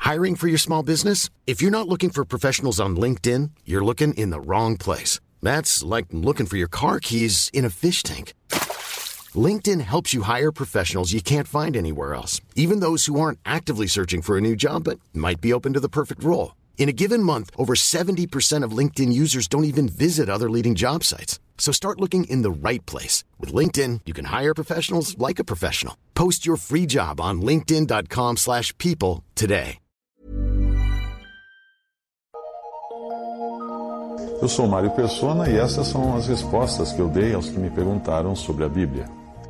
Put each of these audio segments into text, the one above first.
Hiring for your small business? If you're not looking for professionals on LinkedIn, you're looking in the wrong place. That's like looking for your car keys in a fish tank. LinkedIn helps you hire professionals you can't find anywhere else, even those who aren't actively searching for a new job but might be open to the perfect role. In a given month, over 70% of LinkedIn users don't even visit other leading job sites. So start looking in the right place. With LinkedIn, you can hire professionals like a professional. Post your free job on linkedin.com/people today. Eu sou Mário Persona e essas são as respostas que eu dei aos que me perguntaram sobre a Bíblia.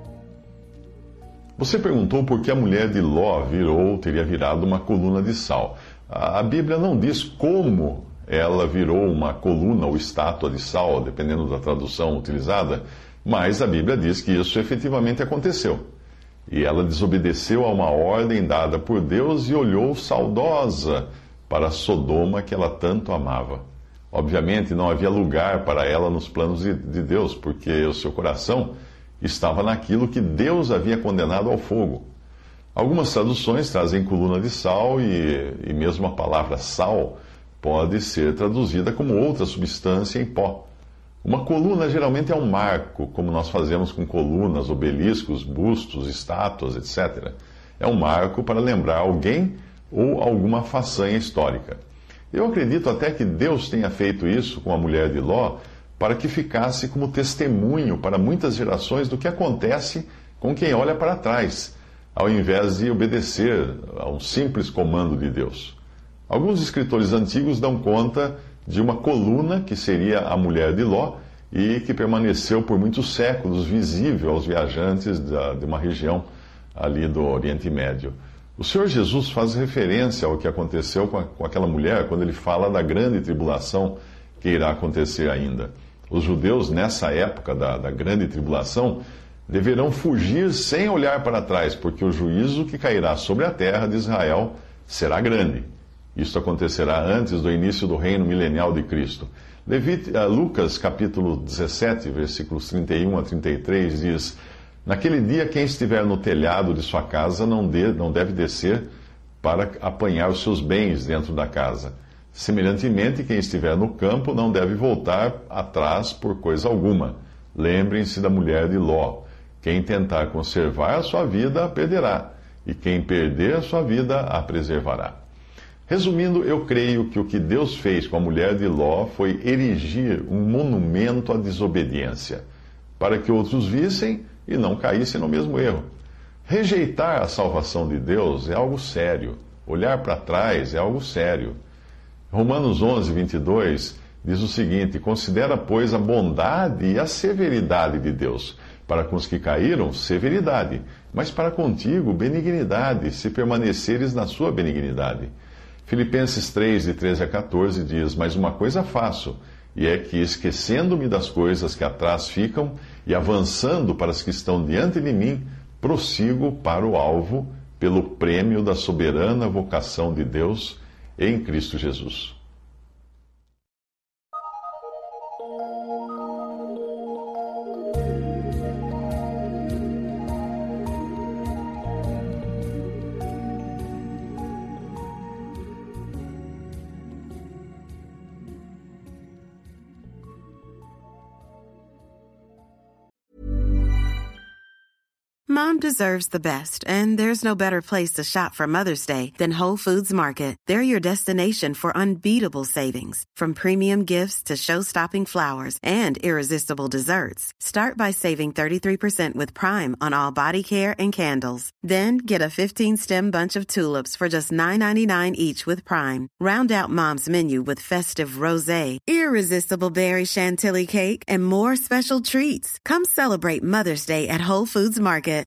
Você perguntou por que a mulher de Ló teria virado uma coluna de sal. A Bíblia não diz como ela virou uma coluna ou estátua de sal, dependendo da tradução utilizada, mas a Bíblia diz que isso efetivamente aconteceu. E ela desobedeceu a uma ordem dada por Deus e olhou saudosa para Sodoma, que ela tanto amava. Obviamente não havia lugar para ela nos planos de Deus, porque o seu coração estava naquilo que Deus havia condenado ao fogo. Algumas traduções trazem coluna de sal e mesmo a palavra sal pode ser traduzida como outra substância em pó. Uma coluna geralmente é um marco, como nós fazemos com colunas, obeliscos, bustos, estátuas, etc. É um marco para lembrar alguém ou alguma façanha histórica. Eu acredito até que Deus tenha feito isso com a mulher de Ló para que ficasse como testemunho para muitas gerações do que acontece com quem olha para trás, ao invés de obedecer a um simples comando de Deus. Alguns escritores antigos dão conta de uma coluna que seria a mulher de Ló e que permaneceu por muitos séculos visível aos viajantes de uma região ali do Oriente Médio. O Senhor Jesus faz referência ao que aconteceu com aquela mulher quando ele fala da grande tribulação que irá acontecer ainda. Os judeus, nessa época da grande tribulação, deverão fugir sem olhar para trás, porque o juízo que cairá sobre a terra de Israel será grande. Isso acontecerá antes do início do reino milenial de Cristo. Lucas capítulo 17, versículos 31 a 33 diz: Naquele dia, quem estiver no telhado de sua casa não deve descer para apanhar os seus bens dentro da casa. Semelhantemente, quem estiver no campo não deve voltar atrás por coisa alguma. Lembrem-se da mulher de Ló. Quem tentar conservar a sua vida, a perderá, e quem perder a sua vida, a preservará. Resumindo, eu creio que o que Deus fez com a mulher de Ló foi erigir um monumento à desobediência, para que outros vissem e não caíssem no mesmo erro. Rejeitar a salvação de Deus é algo sério. Olhar para trás é algo sério. Romanos 11, 22 diz o seguinte: Considera, pois, a bondade e a severidade de Deus. Para com os que caíram, severidade, mas para contigo, benignidade, se permaneceres na sua benignidade. Filipenses 3, de 13 a 14 diz: Mas uma coisa faço, e é que, esquecendo-me das coisas que atrás ficam, e avançando para as que estão diante de mim, prossigo para o alvo, pelo prêmio da soberana vocação de Deus em Cristo Jesus. Mom deserves the best, and there's no better place to shop for Mother's Day than Whole Foods Market. They're your destination for unbeatable savings, from premium gifts to show-stopping flowers and irresistible desserts. Start by saving 33% with Prime on all body care and candles. Then get a 15-stem bunch of tulips for just $9.99 each with Prime. Round out Mom's menu with festive rosé, irresistible berry chantilly cake, and more special treats. Come celebrate Mother's Day at Whole Foods Market.